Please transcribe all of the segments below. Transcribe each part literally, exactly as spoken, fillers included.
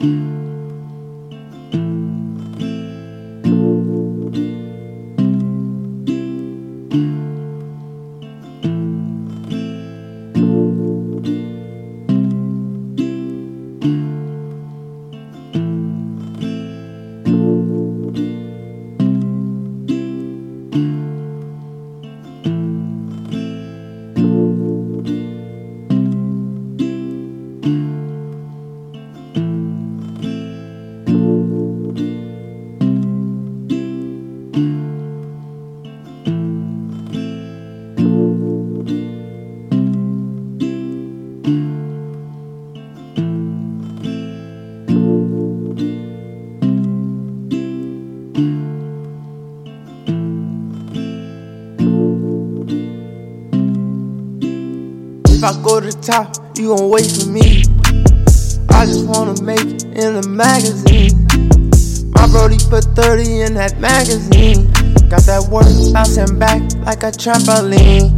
If I go to the top, you gon' wait for me. I just wanna make it in the magazine. My brody put thirty in that magazine. Got that work bouncing back like a trampoline.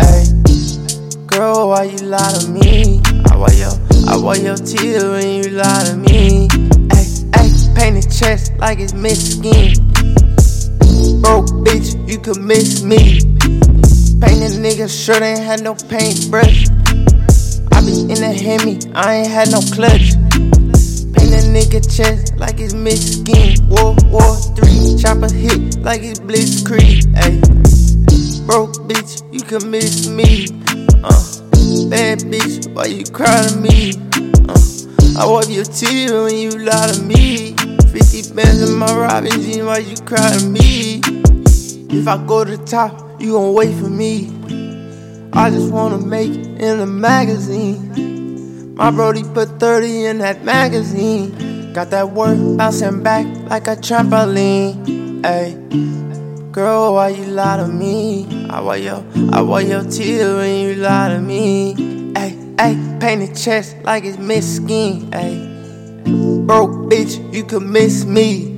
Ayy, girl, why you lie to me? I wear your, I wear your tears when you lie to me. Ayy, ayy, painted chest like it's mixed skin. Broke bitch, you could miss me. Painted nigga shirt ain't had no paintbrush. I be in the Hemi, I ain't had no clutch. Painted nigga chest like it's mixed skin. World War Three, chopper hit like it's Blitzkrieg. Ayy, broke bitch, you could miss me. Uh, bad bitch, why you cry to me? Uh, I wipe your tears when you lie to me. Fifty bands in my Robin jeans, why you cry to me? If I go to the top, you gon' wait for me. I just wanna make it in the magazine. My brody put thirty in that magazine. Got that work bouncing back like a trampoline. Ayy, girl, why you lie to me? I wear your, I wear your tears when you lie to me. Ayy, ayy, painted chest like it's mixed skin. Ayy, broke bitch, you could miss me.